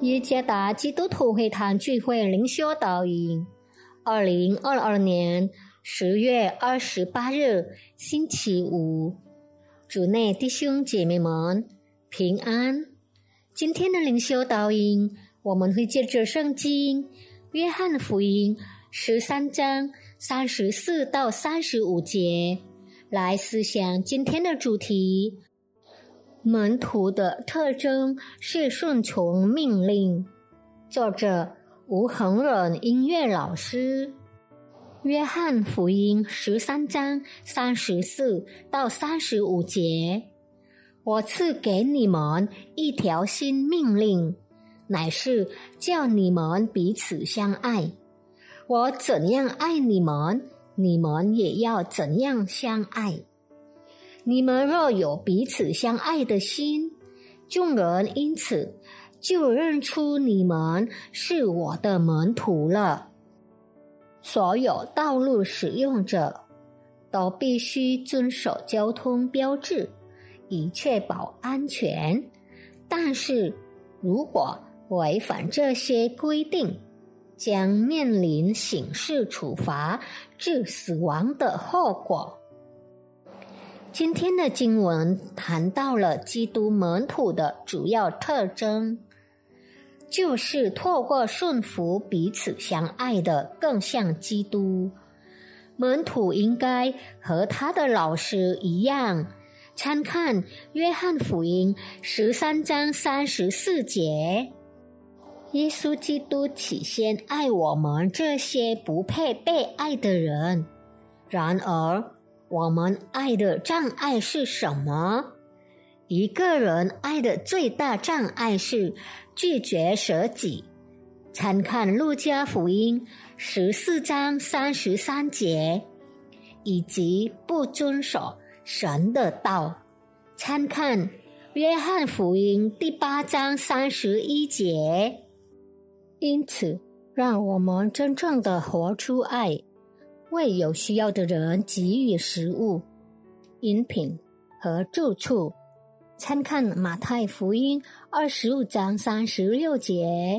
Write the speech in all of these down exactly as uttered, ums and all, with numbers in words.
耶加达基督徒会堂聚会灵修导引，二零二二年十月二十八日星期五，主内弟兄姐妹们平安。今天的灵修导引，我们会借着圣经约翰福音十三章三十四到三十五节来思想今天的主题。门徒的特征是顺从命令。作者吴恒忍音乐老师。约翰福音十三章三十四到三十五节，我赐给你们一条新命令，乃是叫你们彼此相爱。我怎样爱你们，你们也要怎样相爱。你们若有彼此相爱的心，众人因此就认出你们是我的门徒了。所有道路使用者都必须遵守交通标志，以确保安全。但是如果违反这些规定，将面临刑事处罚致死亡的后果。今天的经文谈到了基督门徒的主要特征，就是透过顺服彼此相爱的更像基督。门徒应该和他的老师一样，参看约翰福音十三章三十四节。耶稣基督起先爱我们这些不配被爱的人，然而我们爱的障碍是什么？一个人爱的最大障碍是拒绝舍己。参看路加福音十四章三十三节，以及不遵守神的道。参看约翰福音第八章三十一节。因此，让我们真正的活出爱，为有需要的人给予食物、饮品和住处。参看马太福音二十五章三十六节，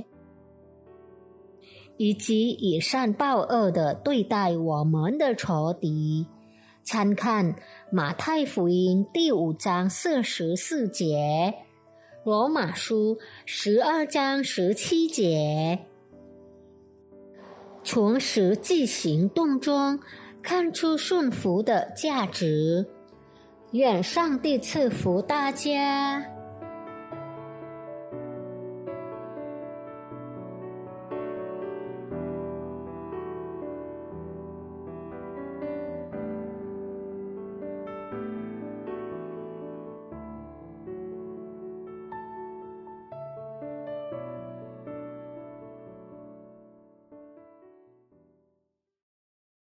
以及以善报恶的对待我们的仇敌。参看马太福音第五章四十四节，罗马书十二章十七节。从实际行动中看出顺服的价值。愿上帝赐福大家。